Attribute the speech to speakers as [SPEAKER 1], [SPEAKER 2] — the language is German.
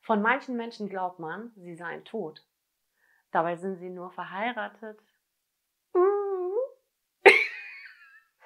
[SPEAKER 1] Von manchen Menschen glaubt man, sie seien tot. Dabei sind sie nur verheiratet